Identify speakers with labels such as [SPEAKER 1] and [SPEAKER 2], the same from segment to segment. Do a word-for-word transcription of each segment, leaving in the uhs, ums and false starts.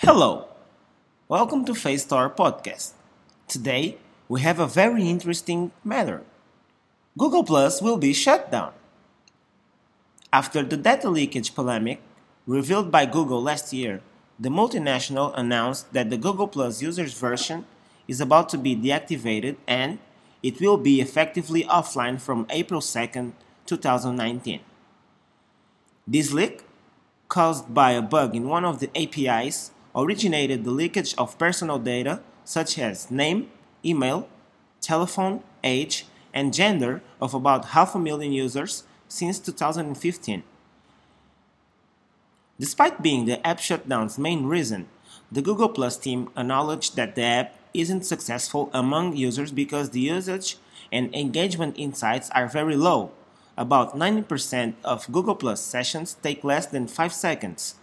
[SPEAKER 1] Hello, welcome to Face Store Podcast. Today, we have a very interesting matter. Google Plus will be shut down. After the data leakage polemic revealed by Google last year, the multinational announced that the Google Plus users version is about to be deactivated and it will be effectively offline from April second, twenty nineteen. This leak, caused by a bug in one of the A P Is, originated the leakage of personal data such as name, email, telephone, age, and gender of about half a million users since two thousand fifteen. Despite being the app shutdown's main reason, the Google Plus team acknowledged that the app isn't successful among users because the usage and engagement insights are very low. About ninety percent of Google Plus sessions take less than five seconds.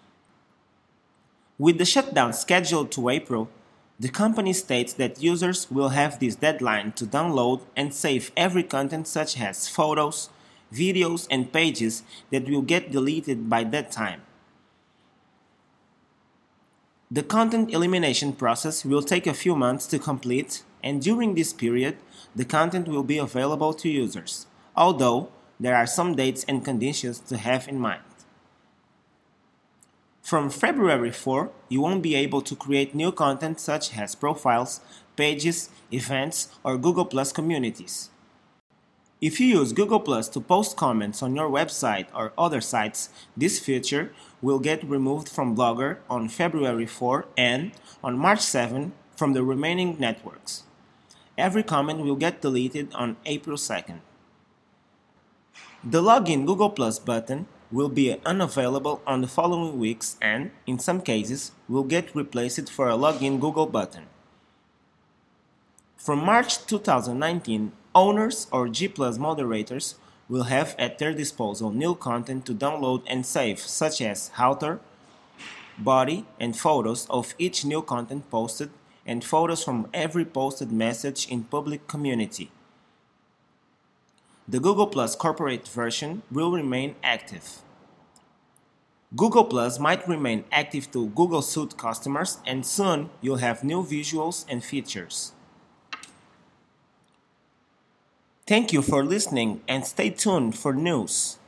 [SPEAKER 1] With the shutdown scheduled to April, the company states that users will have this deadline to download and save every content such as photos, videos, and pages that will get deleted by that time. The content elimination process will take a few months to complete, and during this period, the content will be available to users, although there are some dates and conditions to have in mind. From February fourth, you won't be able to create new content such as profiles, pages, events, or Google Plus communities. If you use Google Plus to post comments on your website or other sites, this feature will get removed from Blogger on February fourth and on March seventh from the remaining networks. Every comment will get deleted on April second. The Login Google Plus button will be unavailable on the following weeks and, in some cases, will get replaced for a Login Google button. From March twenty nineteen, owners or G Plus moderators will have at their disposal new content to download and save, such as author, body, and photos of each new content posted, and photos from every posted message in public community. The Google Plus corporate version will remain active. Google Plus might remain active to Google Suite customers, and soon you'll have new visuals and features. Thank you for listening and stay tuned for news.